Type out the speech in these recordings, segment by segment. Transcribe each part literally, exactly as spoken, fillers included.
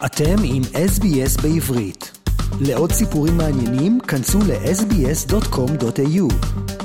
אתם עם אס בי אס בעברית. לעוד סיפורים מעניינים, כנסו ל-אס בי אס דוט קום דוט איי יו.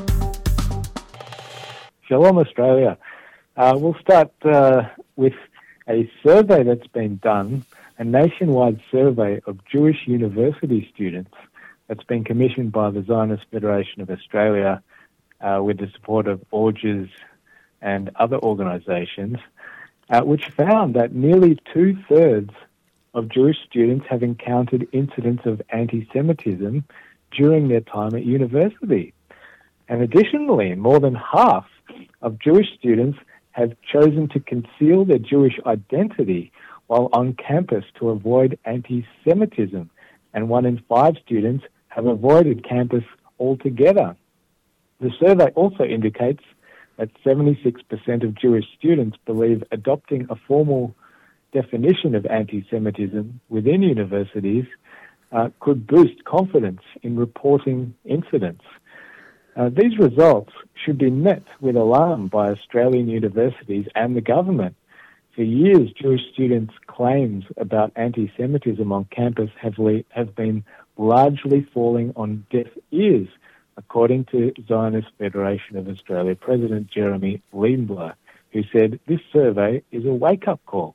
Shalom, Australia. Uh, we'll start uh, with a survey that's been done, a nationwide survey of Jewish university students that's been commissioned by the Zionist Federation of Australia uh, with the support of Orges and other organisations, uh, which found that nearly two-thirds of Jewish students have encountered incidents of anti-Semitism during their time at university. And additionally, more than half of Jewish students have chosen to conceal their Jewish identity while on campus to avoid anti-Semitism, and one in five students have avoided campus altogether. The survey also indicates that seventy-six percent of Jewish students believe adopting a formal definition of anti-Semitism within universities uh, could boost confidence in reporting incidents. Uh, these results should be met with alarm by Australian universities and the government. For years, Jewish students' claims about anti-Semitism on campus have, le- have been largely falling on deaf ears, according to Zionist Federation of Australia President Jeremy Leibler, who said this survey is a wake-up call.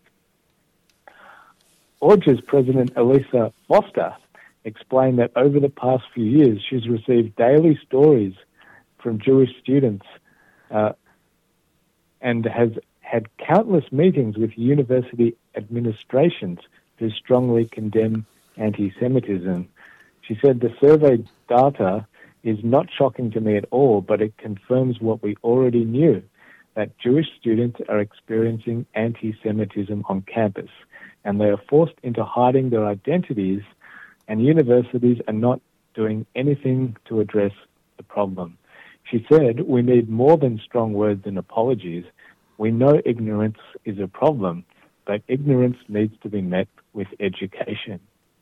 Orges President Elisa Foster explained that over the past few years she's received daily stories from Jewish students uh, and has had countless meetings with university administrations who strongly condemn anti-Semitism. She said the survey data is not shocking to me at all, but it confirms what we already knew, that Jewish students are experiencing anti-Semitism on campus, and they are forced into hiding their identities, and universities are not doing anything to address the problem. She said, we need more than strong words and apologies. We know ignorance is a problem, but ignorance needs to be met with education.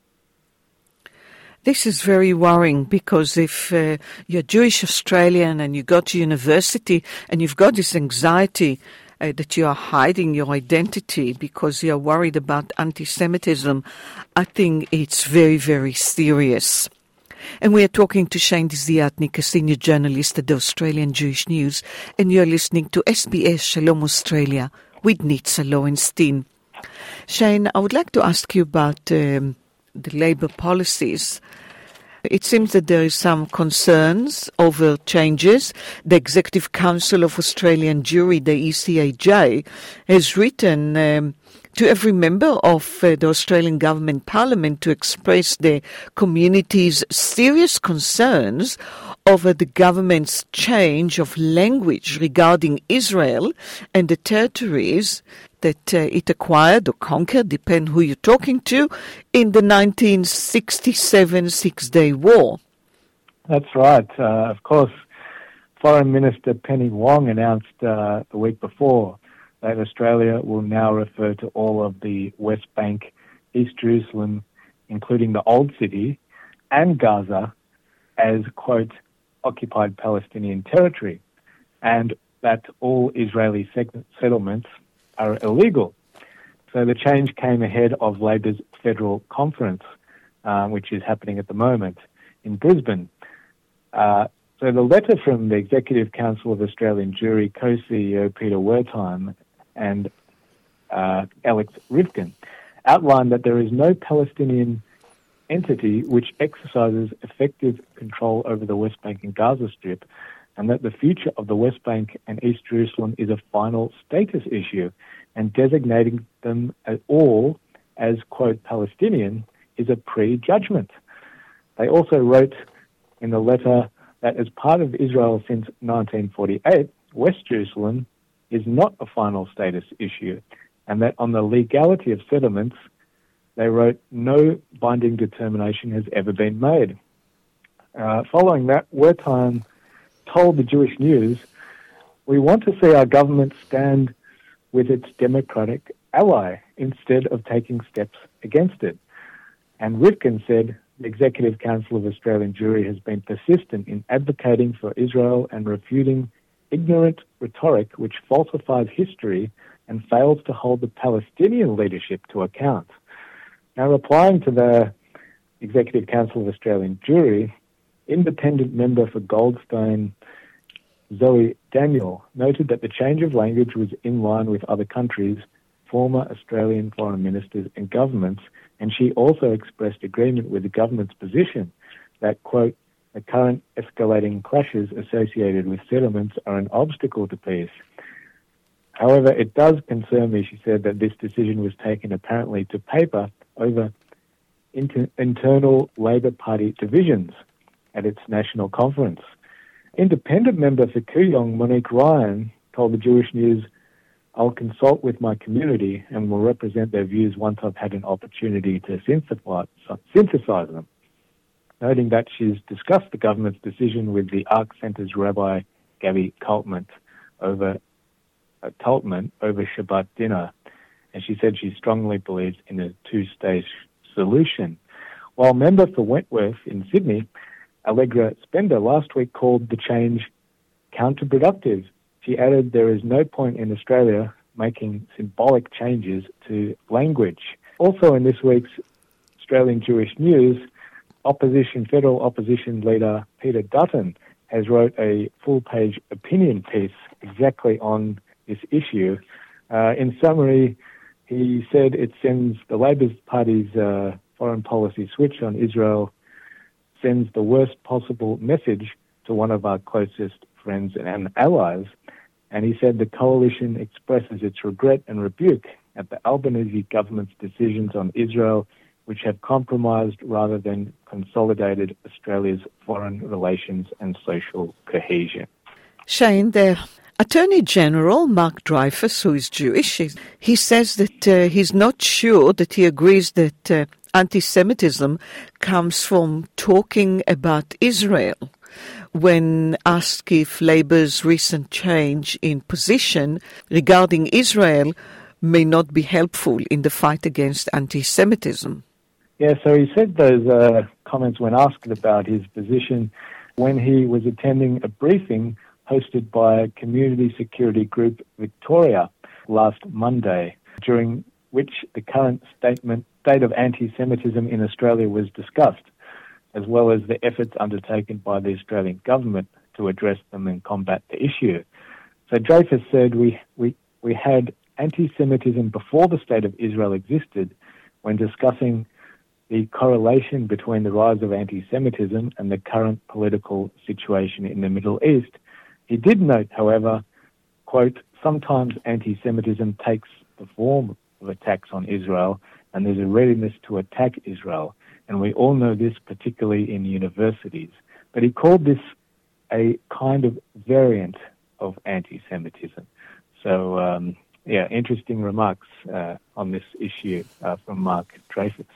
This is very worrying because if uh, you're Jewish Australian and you go to university and you've got this anxiety uh, that you are hiding your identity because you're worried about anti-Semitism, I think it's very, very serious. And we are talking to Shane Desiatnik, a senior journalist at the Australian Jewish News, and you're listening to S B S Shalom Australia with Nitza Lowenstein. Shane, I would like to ask you about um, the Labour policies. It seems that there is some concerns over changes. The Executive Council of Australian Jewry, the E C A J, has written um, to every member of uh, the Australian Government Parliament to express the community's serious concerns over the government's change of language regarding Israel and the territories that uh, it acquired or conquered, depend who you're talking to, in the nineteen sixty-seven Six-Day War. That's right. Uh, of course, Foreign Minister Penny Wong announced uh, the week before that Australia will now refer to all of the West Bank, East Jerusalem, including the Old City, and Gaza as, quote, occupied Palestinian territory, and that all Israeli settlements are illegal. So the change came ahead of Labor's federal conference, uh, which is happening at the moment in Brisbane. Uh, so the letter from the Executive Council of Australian Jewry co-C E O Peter Wertheim and uh, Alex Rivkin outlined that there is no Palestinian entity which exercises effective control over the West Bank and Gaza Strip, and that the future of the West Bank and East Jerusalem is a final status issue, and designating them at all as, quote, Palestinian is a prejudgment. They also wrote in the letter that as part of Israel since nineteen forty-eight, West Jerusalem is not a final status issue, and that on the legality of settlements, they wrote, no binding determination has ever been made. Uh, following that, Wertheim told the Jewish News, we want to see our government stand with its democratic ally instead of taking steps against it. And Rivkin said, the Executive Council of Australian Jewry has been persistent in advocating for Israel and refuting ignorant rhetoric which falsifies history and fails to hold the Palestinian leadership to account. Now, replying to the Executive Council of Australian Jewry, independent member for Goldstone, Zoe Daniel, noted that the change of language was in line with other countries' former Australian foreign ministers and governments, and she also expressed agreement with the government's position that, quote, the current escalating clashes associated with settlements are an obstacle to peace. However, it does concern me, she said, that this decision was taken apparently to paper over inter- internal Labor Party divisions at its national conference. Independent member for Kooyong, Monique Ryan, told the Jewish News, I'll consult with my community and will represent their views once I've had an opportunity to synthesize them, noting that she's discussed the government's decision with the Ark Center's Rabbi Gabby Kaltman over, uh, Kaltman over Shabbat dinner, and she said she strongly believes in a two-stage solution. While member for Wentworth in Sydney, Allegra Spender, last week called the change counterproductive. She added there is no point in Australia making symbolic changes to language. Also in this week's Australian Jewish News, opposition federal opposition leader Peter Dutton has wrote a full-page opinion piece exactly on this issue. Uh, in summary, he said it sends the Labor Party's uh, foreign policy switch on Israel sends the worst possible message to one of our closest friends and allies. And he said the coalition expresses its regret and rebuke at the Albanese government's decisions on Israel, which have compromised rather than consolidated Australia's foreign relations and social cohesion. Shane, the Attorney General, Mark Dreyfus, who is Jewish, he says that uh, he's not sure that he agrees that uh, anti-Semitism comes from talking about Israel. When asked if Labour's recent change in position regarding Israel may not be helpful in the fight against anti-Semitism. Yeah, so he said those uh, comments when asked about his position when he was attending a briefing hosted by community security group Victoria last Monday, during which the current statement, state of anti-Semitism in Australia was discussed, as well as the efforts undertaken by the Australian government to address them and combat the issue. So Dreyfus said we, we, we had anti-Semitism before the State of Israel existed when discussing the correlation between the rise of anti-Semitism and the current political situation in the Middle East. He did note, however, quote, sometimes anti-Semitism takes the form of attacks on Israel and there's a readiness to attack Israel. And we all know this, particularly in universities. But he called this a kind of variant of anti-Semitism. So, um, yeah, interesting remarks uh, on this issue uh, from Mark Dreyfus.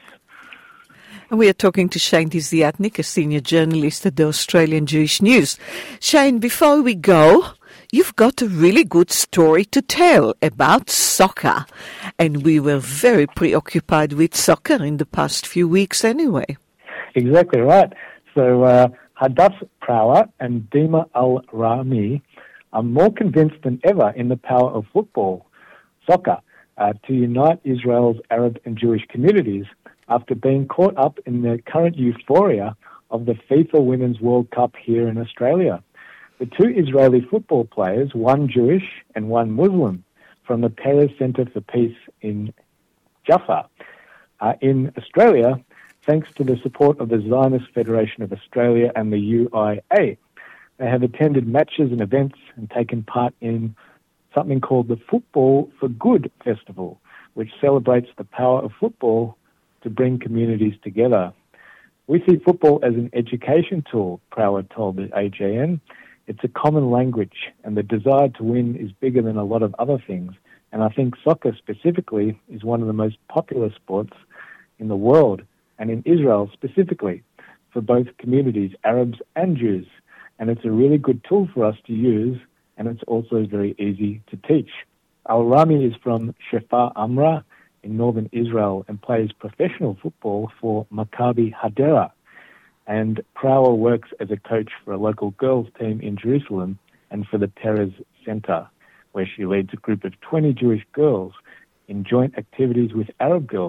And we are talking to Shane Desiatnik, a senior journalist at the Australian Jewish News. Shane, before we go, you've got a really good story to tell about soccer. And we were very preoccupied with soccer in the past few weeks anyway. Exactly right. So uh, Hadass Prawa and Dima Al-Rami are more convinced than ever in the power of football, soccer, uh, to unite Israel's Arab and Jewish communities after being caught up in the current euphoria of the FIFA Women's World Cup here in Australia. The two Israeli football players, one Jewish and one Muslim, from the Peres Centre for Peace in Jaffa, are in Australia thanks to the support of the Zionist Federation of Australia and the U I A. They have attended matches and events and taken part in something called the Football for Good Festival, which celebrates the power of football to bring communities together. We see football as an education tool, Prower told the A J N. It's a common language, and the desire to win is bigger than a lot of other things. And I think soccer specifically is one of the most popular sports in the world, and in Israel specifically, for both communities, Arabs and Jews. And it's a really good tool for us to use, and it's also very easy to teach. Al-Rami is from Shefa Amra in northern Israel and plays professional football for Maccabi Hadera. And Prower works as a coach for a local girls team in Jerusalem and for the Peres Center, where she leads a group of twenty Jewish girls in joint activities with Arab girls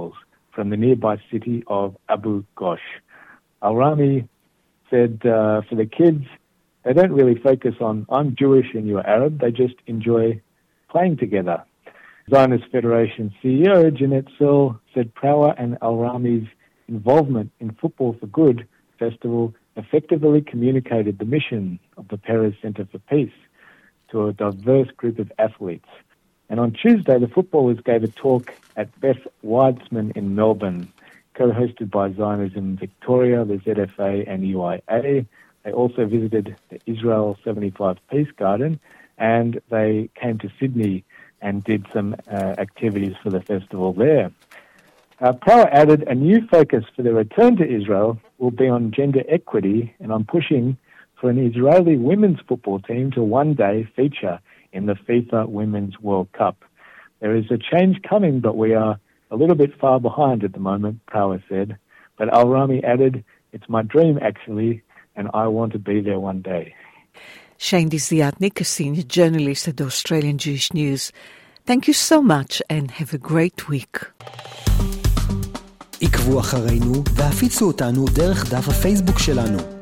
from the nearby city of Abu Ghosh. Al-Rami said uh, for the kids, they don't really focus on, I'm Jewish and you're Arab, they just enjoy playing together. Zionist Federation C E O Jeanette Searle said Prower and Al-Rami's involvement in Football for Good festival effectively communicated the mission of the Perez Center for Peace to a diverse group of athletes. And on Tuesday, the footballers gave a talk at Beth Weitzman in Melbourne, co-hosted by Zionism Victoria, the Z F A and U I A. They also visited the Israel seventy-five Peace Garden, and they came to Sydney and did some uh, activities for the festival there. Uh, Prower added a new focus for the return to Israel will be on gender equity, and I'm pushing for an Israeli women's football team to one day feature in the FIFA Women's World Cup. There is a change coming, but we are a little bit far behind at the moment, Prower said. But Al-Rami added, it's my dream actually, and I want to be there one day. Shane Desiatnik, a senior journalist at the Australian Jewish News. Thank you so much and have a great week. עקבו אחרינו והפיצו אותנו דרך דף הפייסבוק שלנו.